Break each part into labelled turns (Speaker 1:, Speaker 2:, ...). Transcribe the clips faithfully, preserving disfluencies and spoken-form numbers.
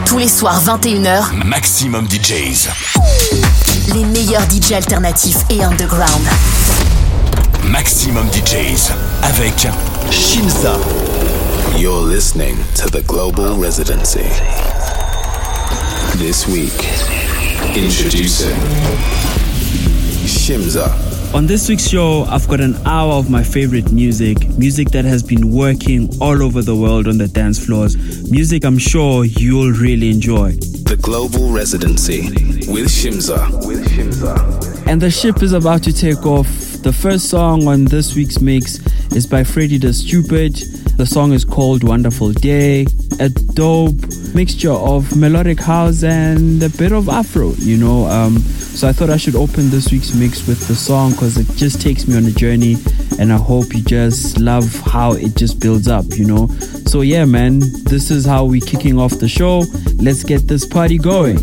Speaker 1: Tous les soirs vingt et une heures,
Speaker 2: Maximum D Js.
Speaker 1: Les meilleurs D J alternatifs et underground.
Speaker 2: Maximum D Js avec Shimza.
Speaker 3: You're listening to the Global Residency. This week, introducing Shimza.
Speaker 4: On this week's show, I've got an hour of my favorite music, music that has been working all over the world on the dance floors, music I'm sure you'll really enjoy.
Speaker 3: The Global Residency with Shimza. With Shimza.
Speaker 4: And the ship is about to take off. The first song on this week's mix is by Freddie the Stupid. The song is called Wonderful Day. A dope mixture of melodic house and a bit of Afro, you know. Um, so I thought I should open this week's mix with the song because it just takes me on a journey, and I hope you just love how it just builds up, you know. So yeah, man, this is how we're kicking off the show. Let's get this party going.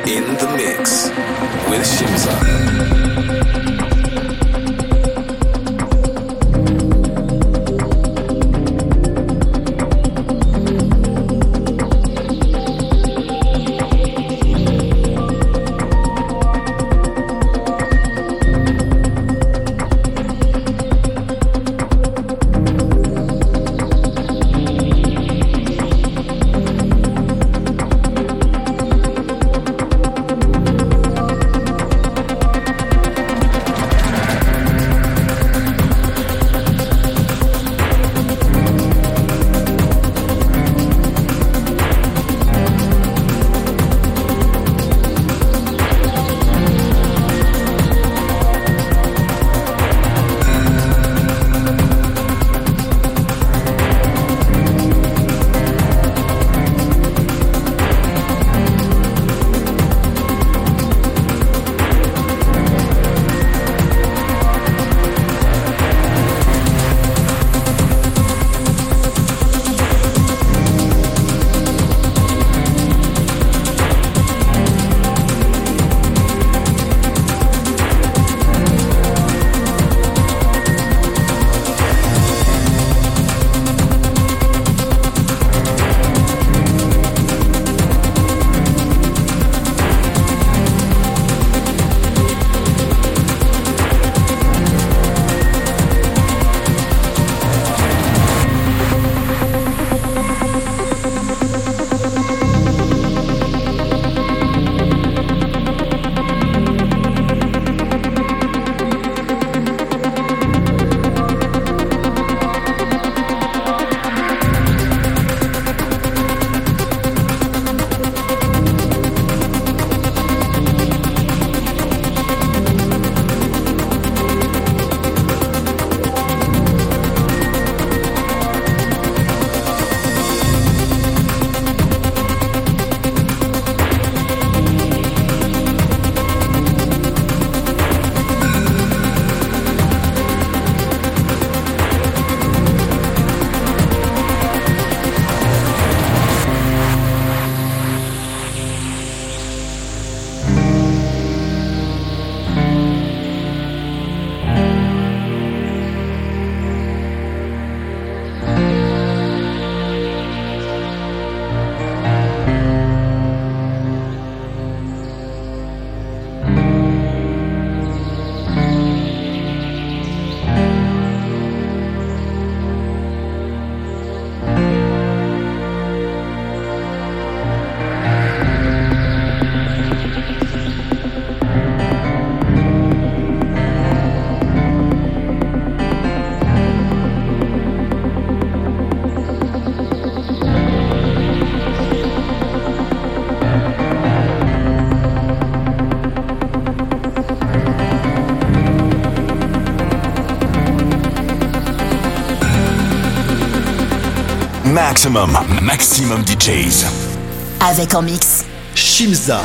Speaker 3: In the mix with Shimza.
Speaker 2: Maximum, maximum D Js.
Speaker 1: Avec en mix
Speaker 2: Shimza.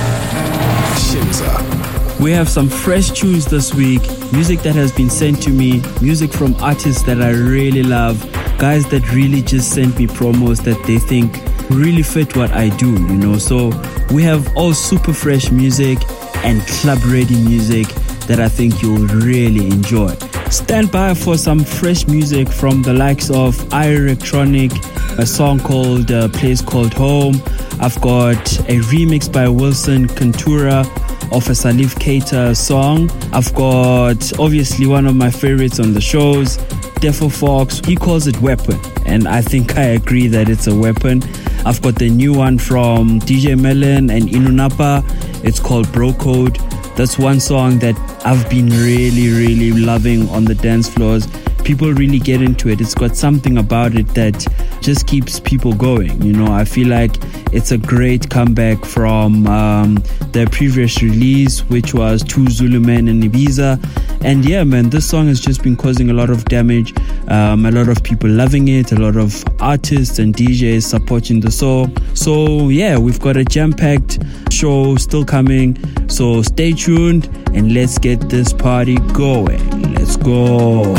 Speaker 3: Shimza.
Speaker 4: We have some fresh tunes this week, music that has been sent to me, music from artists that I really love, guys that really just sent me promos that they think really fit what I do, you know. So we have all super fresh music and club ready music that I think you'll really enjoy. Stand by for some fresh music from the likes of iElectronic, a song called uh, Place Called Home. I've got a remix by Wilson Cantura of a Salif Keita song. I've got obviously one of my favorites on the shows, Defo Fox. He calls it Weapon, and I think I agree that it's a weapon. I've got the new one from D J Melon and Inunapa. It's called Bro Code. That's one song that I've been really, really loving on the dance floors. People really get into it. It's got something about it that just keeps people going. You know, I feel like it's a great comeback from um, their previous release, which was Two Zulu Men in Ibiza. And yeah, man, this song has just been causing a lot of damage. Um, a lot of people loving it. A lot of artists and D Js supporting the song. So yeah, we've got a jam-packed show still coming. So stay tuned and let's get this party going. Let's go.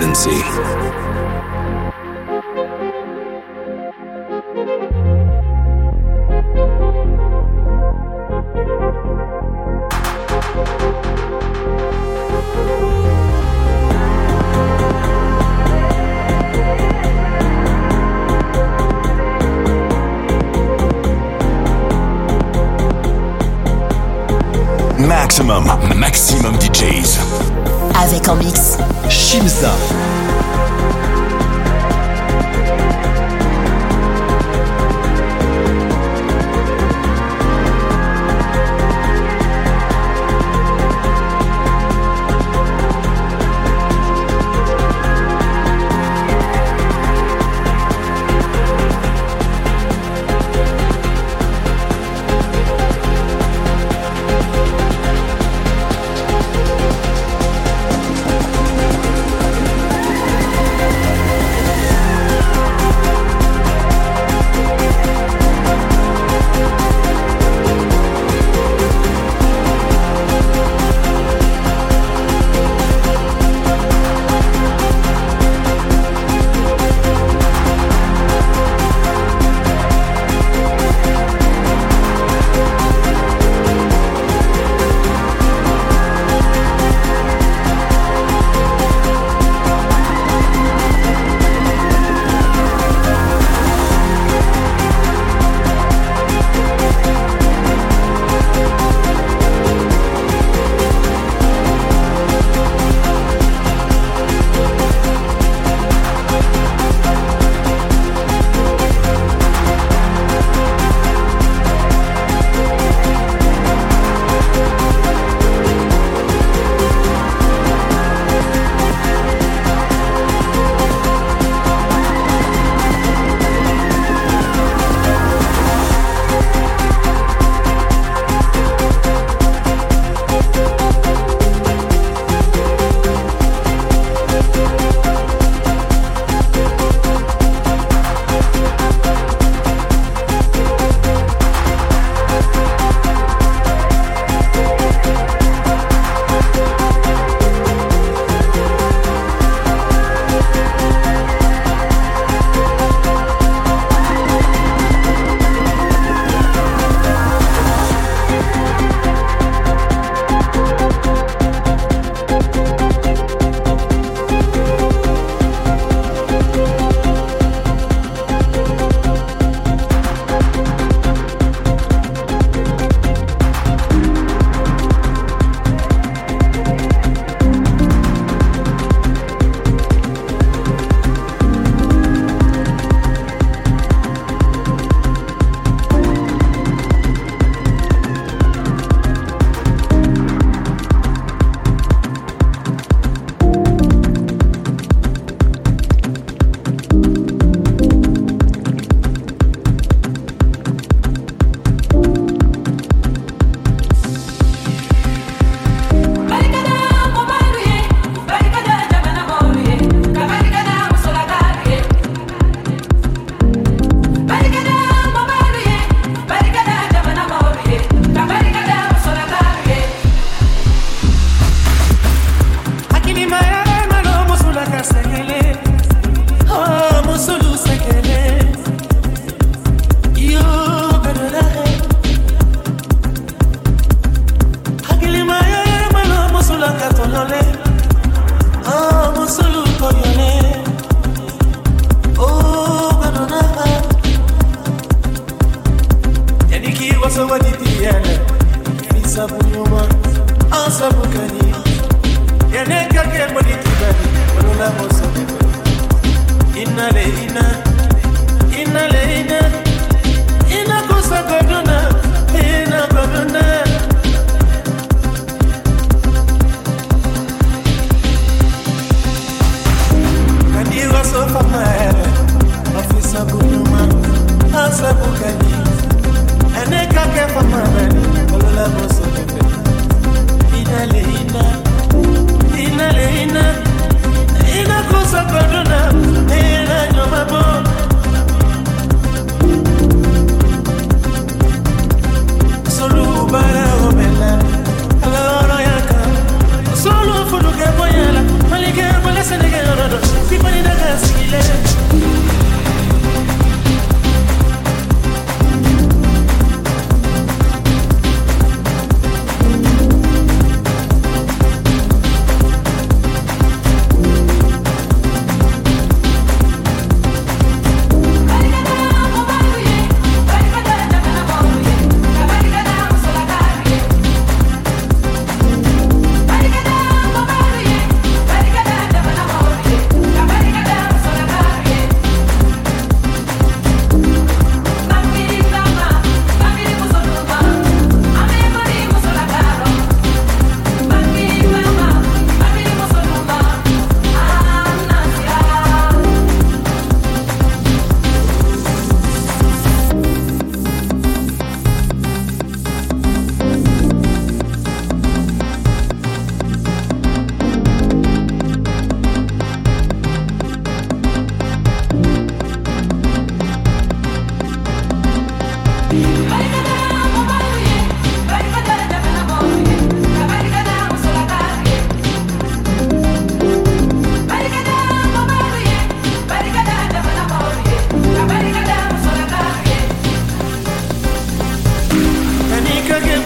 Speaker 3: Residency.
Speaker 2: Maximum, maximum D Js.
Speaker 1: Avec en mix
Speaker 2: Shimza.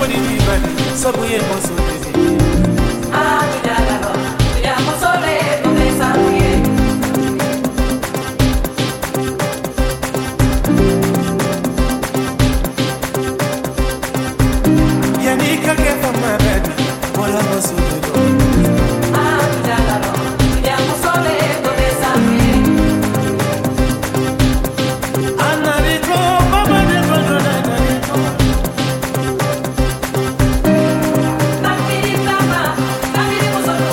Speaker 5: Thank you.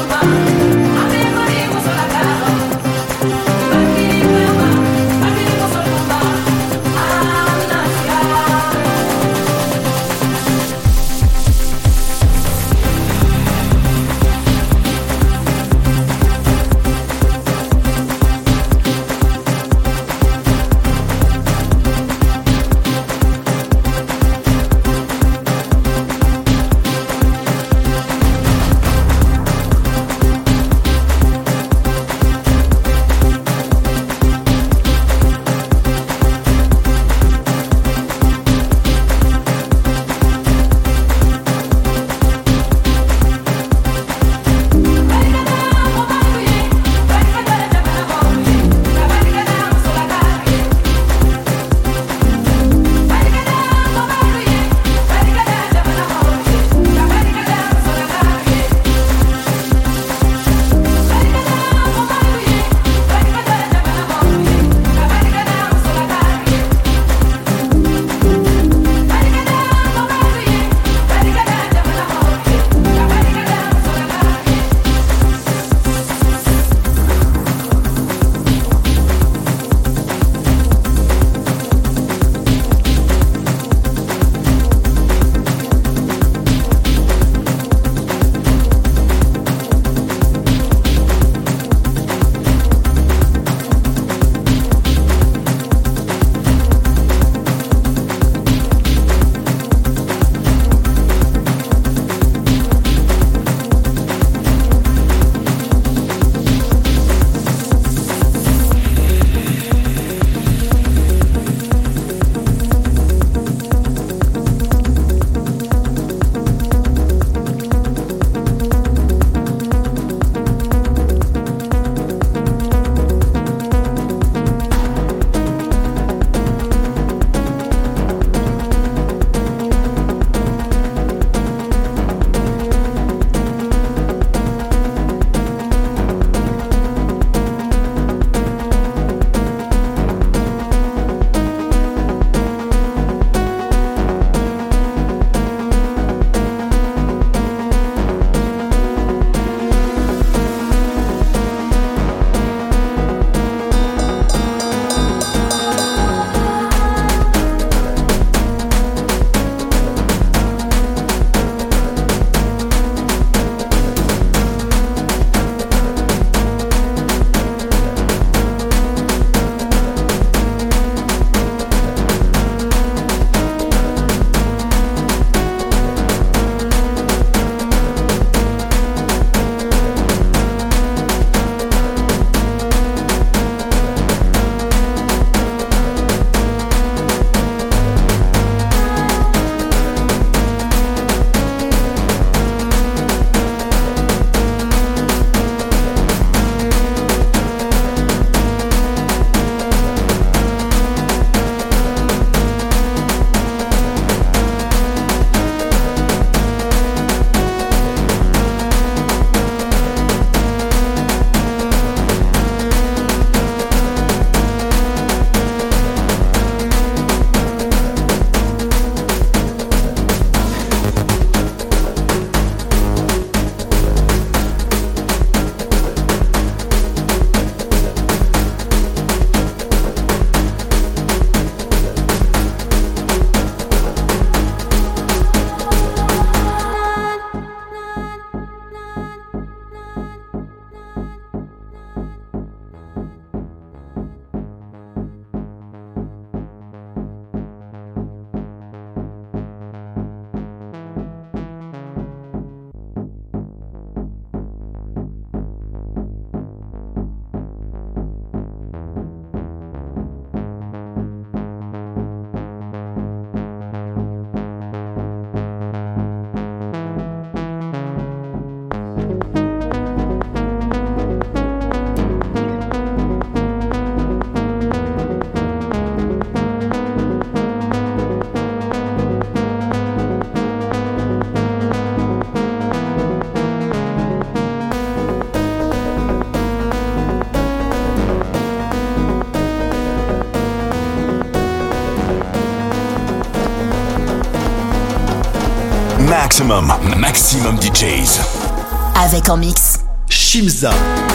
Speaker 2: Maximum, Maximum D Js.
Speaker 1: Avec en mix
Speaker 2: Shimza.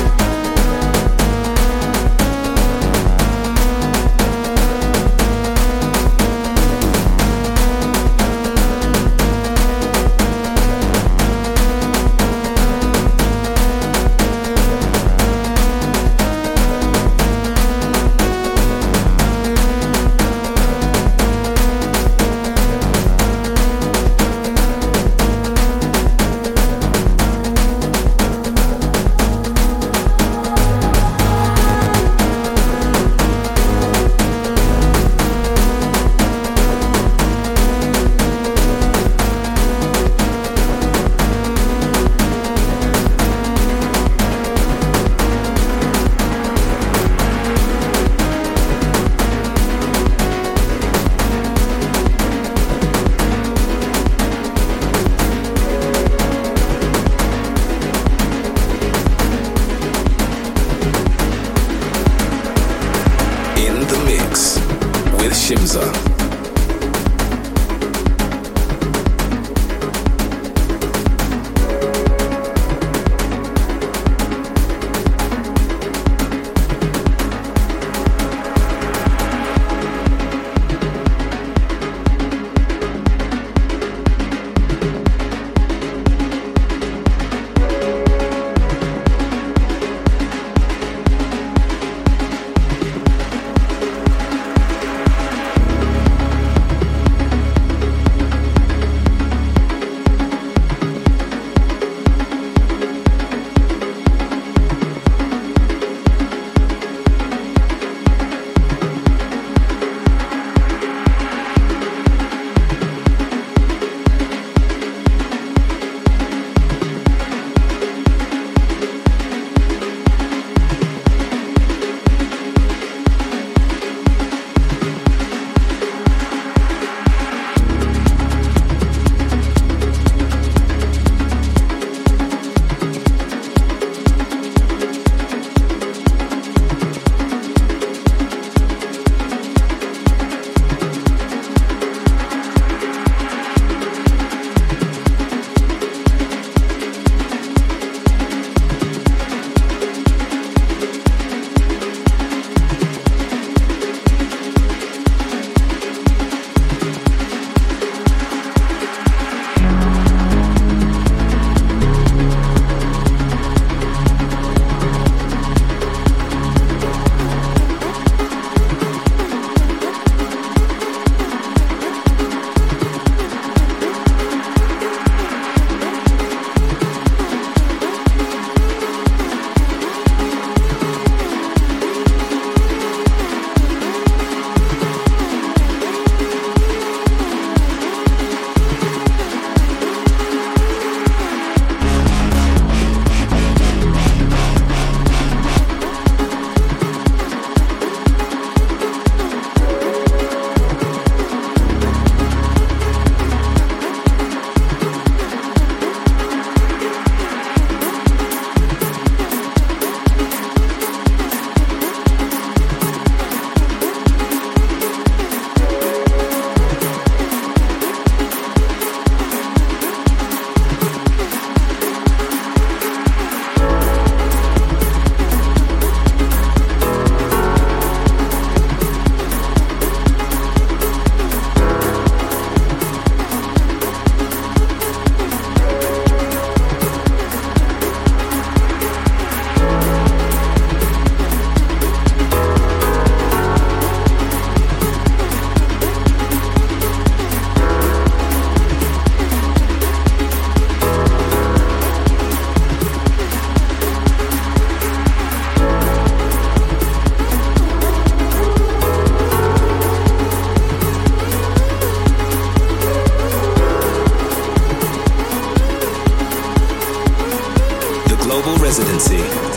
Speaker 3: Residency.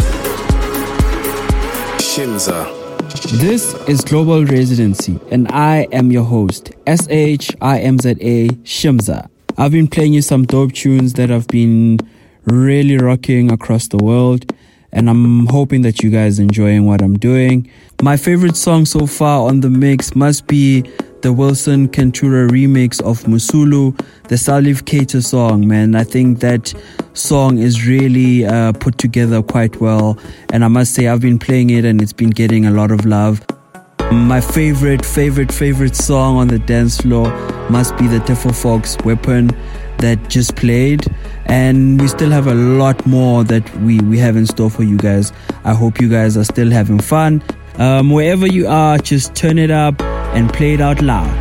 Speaker 3: Shimza.
Speaker 4: This is Global Residency, and I am your host, S H I M Z A Shimza. I've been playing you some dope tunes that have been really rocking across the world, and I'm hoping that you guys are enjoying what I'm doing. My favorite song so far on the mix must be the Wilson Kentura remix of Musulu, the Salif Keita song, man. I think that song is really uh, put together quite well. And I must say, I've been playing it and it's been getting a lot of love. My favorite, favorite, favorite song on the dance floor must be the Tefo Fox Weapon that just played. And we still have a lot more that we, we have in store for you guys. I hope you guys are still having fun. Um, wherever you are, just turn it up and play it out loud.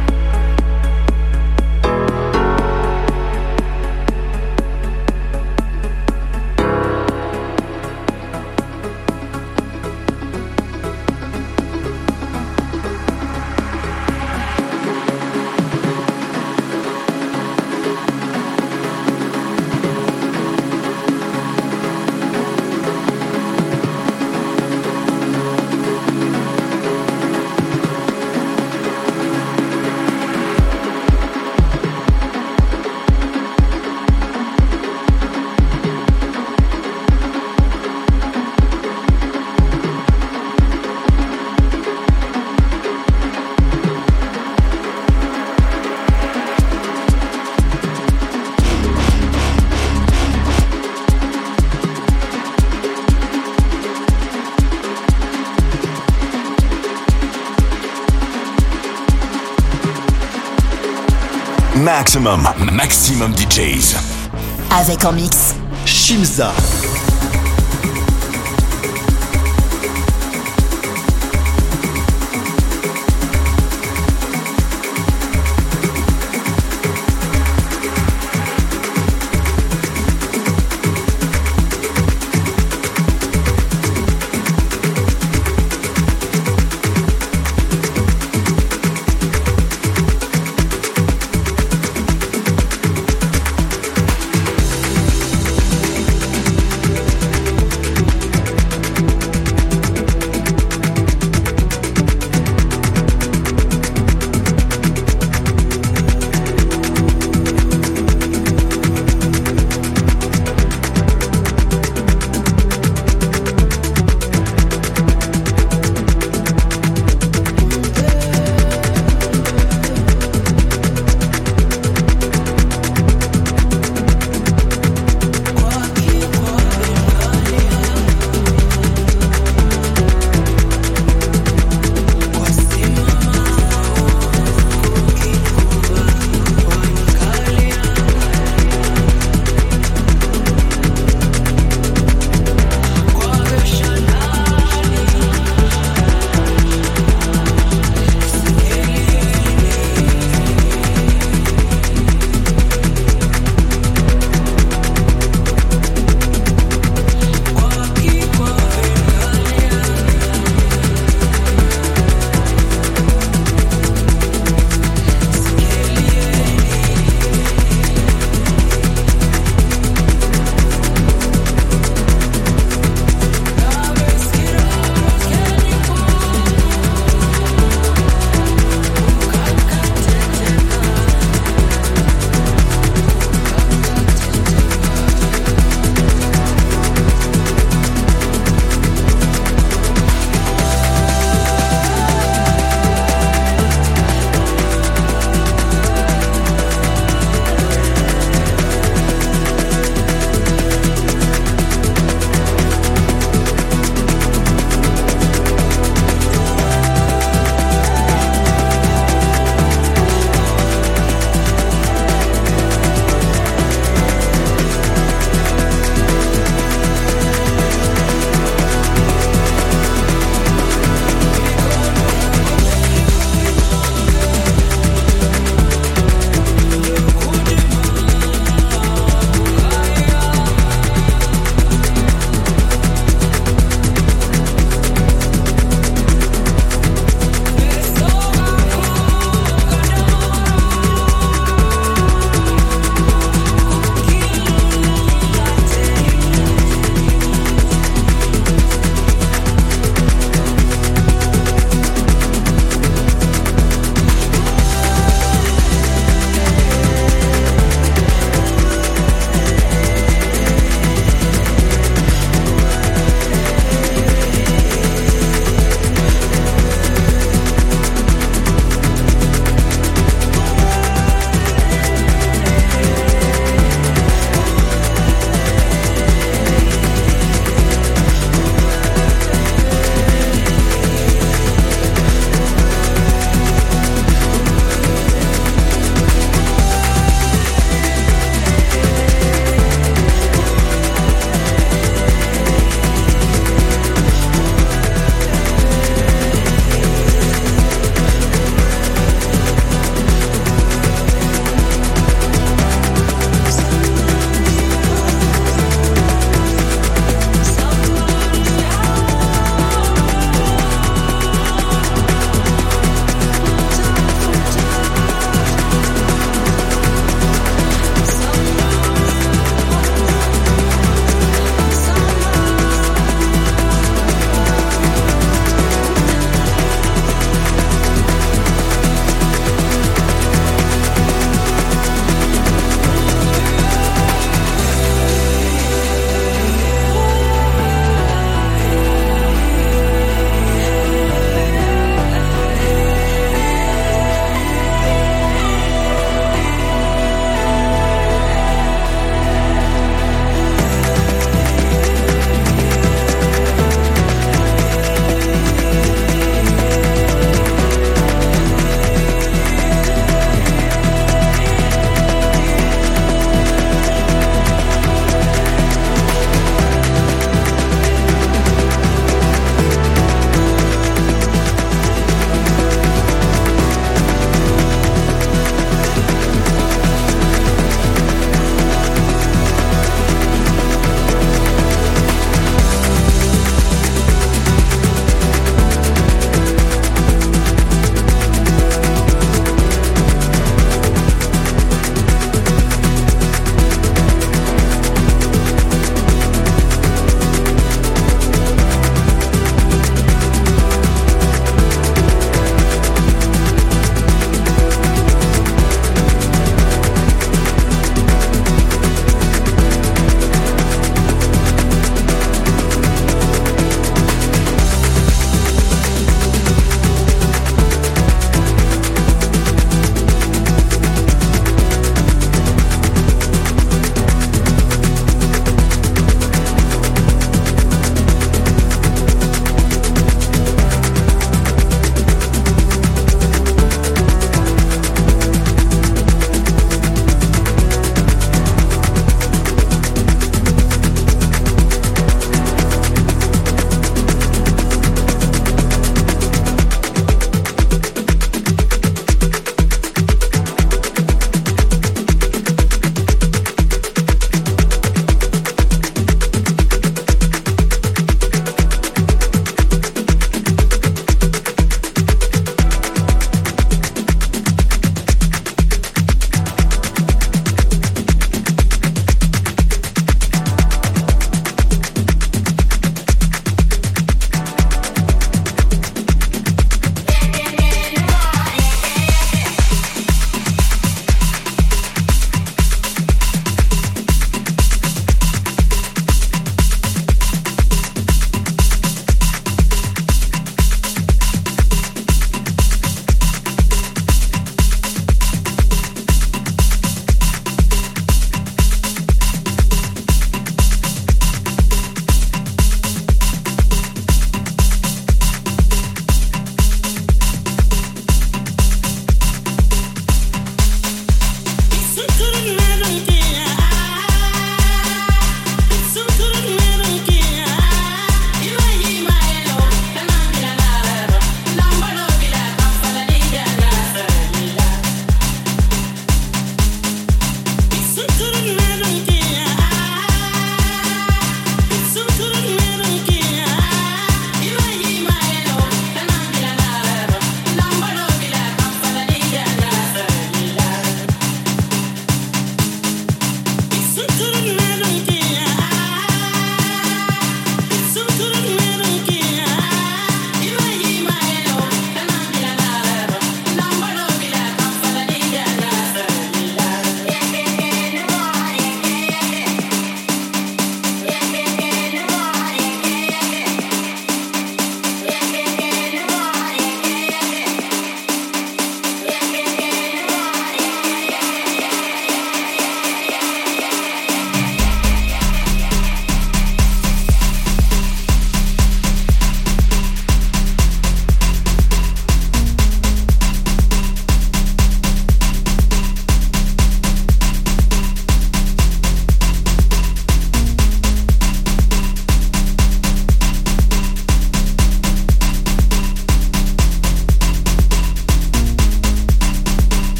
Speaker 2: Maximum, maximum D Js.
Speaker 1: Avec en mix
Speaker 2: Shimza.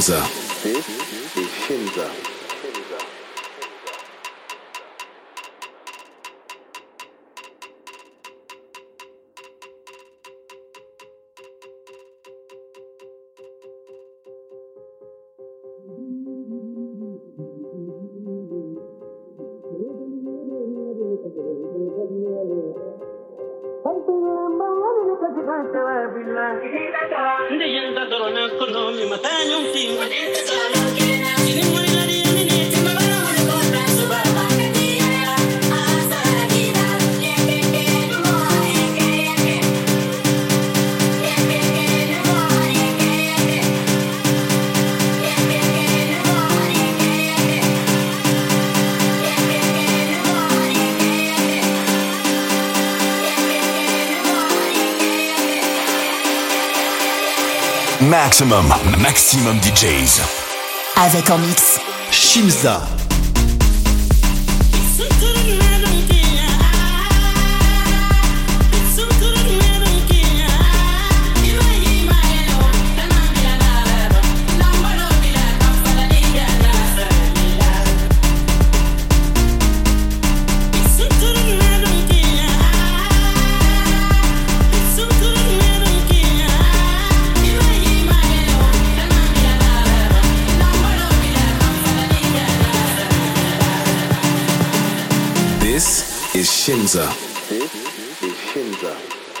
Speaker 3: Shimza. This is Shimza.
Speaker 2: Maximum, maximum D Js.
Speaker 1: Avec en mix
Speaker 2: Shimza.
Speaker 3: This is Shimza. This is Shimza.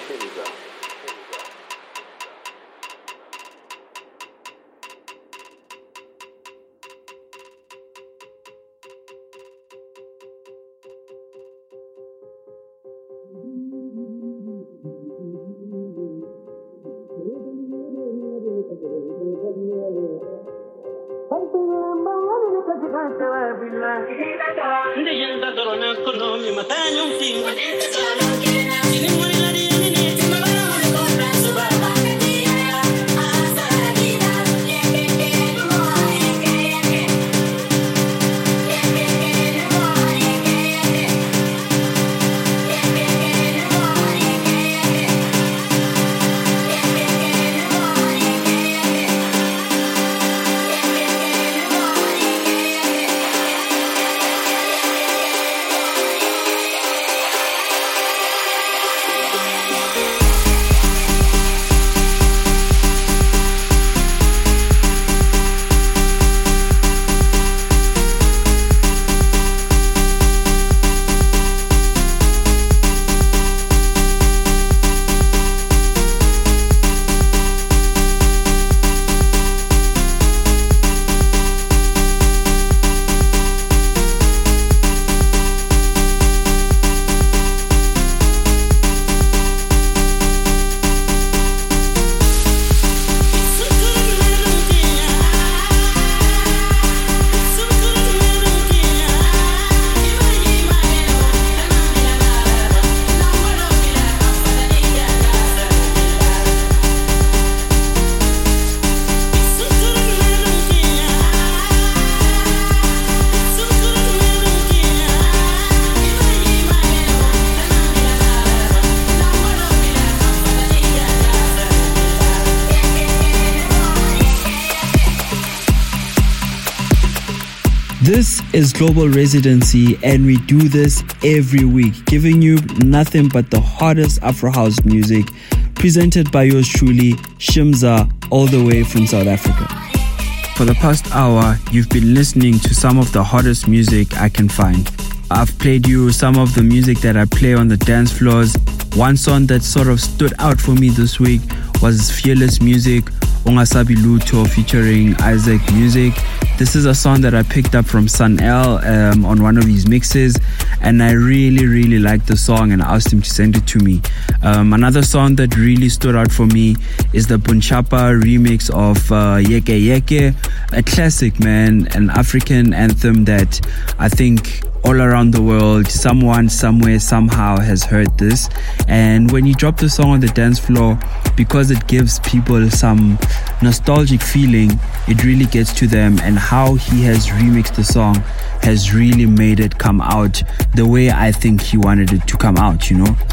Speaker 4: This is Global Residency, and we do this every week, giving you nothing but the hottest Afro House music, presented by yours truly, Shimza, all the way from South Africa. For the past hour, you've been listening to some of the hottest music I can find. I've played you some of the music that I play on the dance floors. One song that sort of stood out for me this week was Fearless Music, Ongasabi Luto featuring Isaac Music. This is a song that I picked up from Sun L um, on one of his mixes, and I really, really liked the song and I asked him to send it to me. Um, another song that really stood out for me is the Bunchapa remix of uh, Yeke Yeke, a classic, man, an African anthem that I think all around the world, someone, somewhere, somehow has heard this. And when you drop the song on the dance floor, because it gives people some nostalgic feeling, it really gets to them. And how he has remixed the song has really made it come out the way I think he wanted it to come out, you know?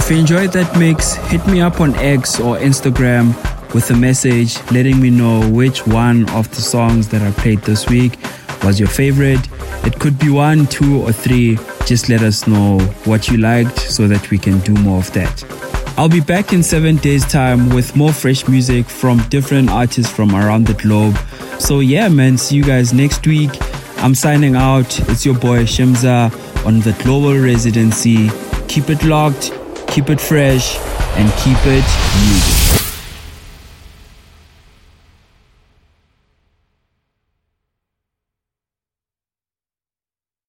Speaker 4: If you enjoyed that mix, hit me up on X or Instagram with a message letting me know which one of the songs that I played this week was your favorite. It could be one, two, or three. Just let us know what you liked so that we can do more of that. I'll be back in seven days' time with more fresh music from different artists from around the globe. So yeah, man, see you guys next week. I'm signing out. It's your boy Shimza on the Global Residency. Keep it locked, keep it fresh, and keep it music.